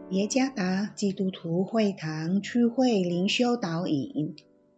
耶加达基督徒会堂区会灵修导引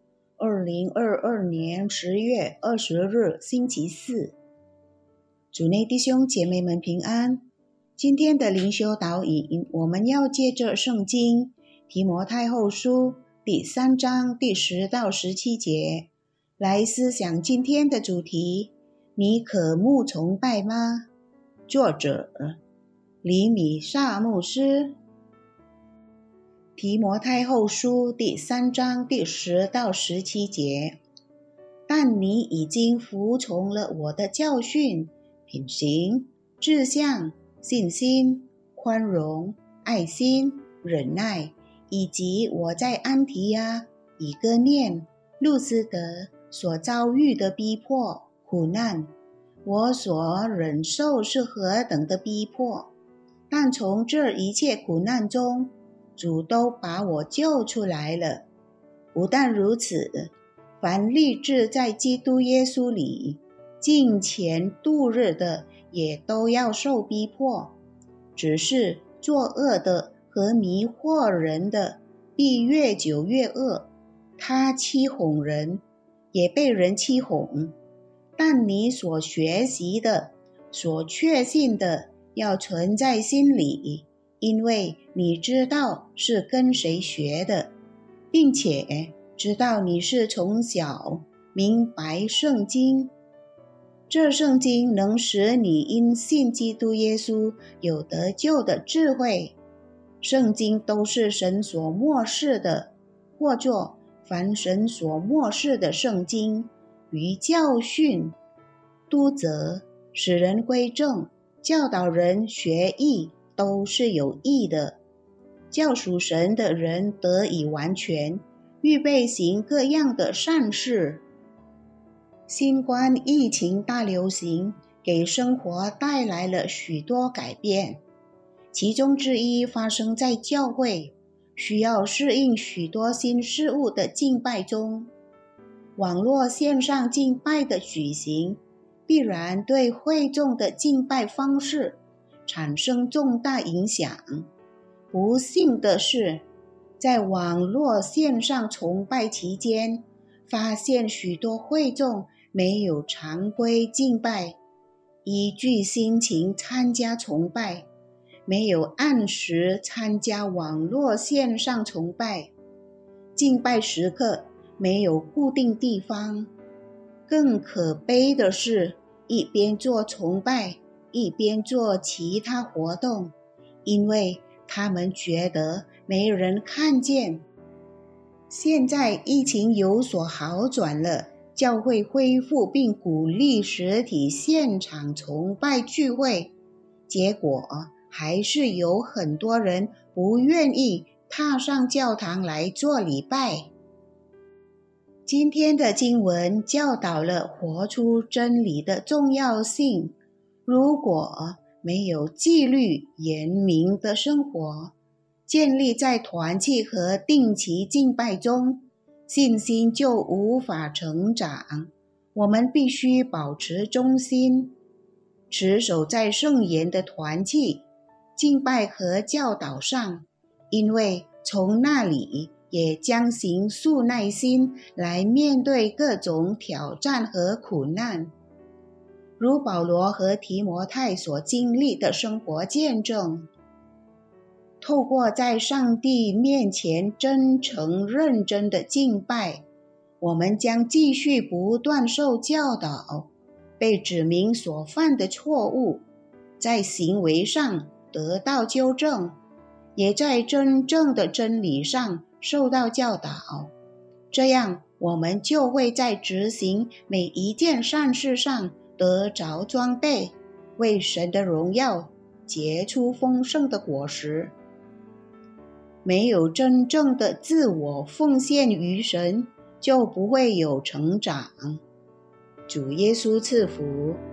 ，2022年10月20日星期四，主内弟兄姐妹们平安。今天的灵修导引，我们要借着圣经提摩太后书第3章第10到17节来思想今天的主题：你渴慕崇拜吗？作者李米萨牧师。提摩太后书第3章第10到17节，但你已经服从了我的教训、品行、志向、信心、宽容、爱心、忍耐，以及我在安提亚、以哥念、路斯德所遭遇的逼迫、苦难。我所忍受是何等的逼迫，但从这一切苦难中，主都把我救出来了。不但如此，凡立志在基督耶稣里敬虔度日的，也都要受逼迫。只是作恶的和迷惑人的，必越久越恶。他欺哄人，也被人欺哄。但你所学习的、所确信的，要存在心里，因为你知道是跟谁学的，并且知道你是从小明白圣经。这圣经能使你因信基督耶稣有得救的智慧。圣经都是神所默示的，或作凡神所默示的圣经，于教训、督责、使人归正、教导人学义，都是有益的，叫属神的人得以完全，预备行各样的善事。新冠疫情大流行给生活带来了许多改变，其中之一发生在教会需要适应许多新事物的敬拜中。网络线上敬拜的举行，必然对会众的敬拜方式产生重大影响。不幸的是，在网络线上崇拜期间，发现许多会众没有常规敬拜，依据心情参加崇拜，没有按时参加网络线上崇拜，敬拜时刻没有固定地方。更可悲的是，一边做崇拜，一边做其他活动，因为他们觉得没人看见。现在疫情有所好转了，教会恢复并鼓励实体现场崇拜聚会，结果还是有很多人不愿意踏上教堂来做礼拜。今天的经文教导了活出真理的重要性。如果没有纪律严明的生活，建立在团契和定期敬拜中，信心就无法成长。我们必须保持忠心，持守在圣言的团契、敬拜和教导上，因为从那里也将形塑耐心来面对各种挑战和苦难。如保罗和提摩太所经历的生活见证，透过在上帝面前真诚认真的敬拜，我们将继续不断受教导，被指明所犯的错误，在行为上得到纠正，也在真正的真理上受到教导。这样我们就会在执行每一件善事上得着装备，为神的荣耀结出丰盛的果实。没有真正的自我奉献于神，就不会有成长。主耶稣赐福。